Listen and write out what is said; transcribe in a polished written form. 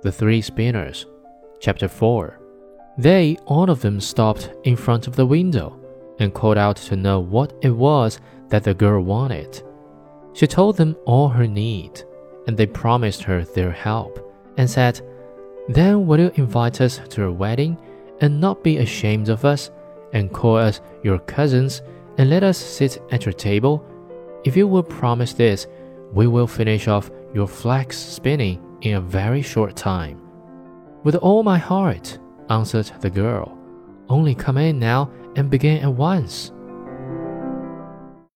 The Three Spinners. Chapter 4. They all of them stopped in front of the window and called out to know what it was that the girl wanted. She told them all her need, and they promised her their help, and said, "Then will you invite us to your wedding, and not be ashamed of us, and call us your cousins, and let us sit at your table? If you will promise this, we will finish off your flax spinning in a very short time." "With all my heart," answered the girl. "Only come in now and begin at once."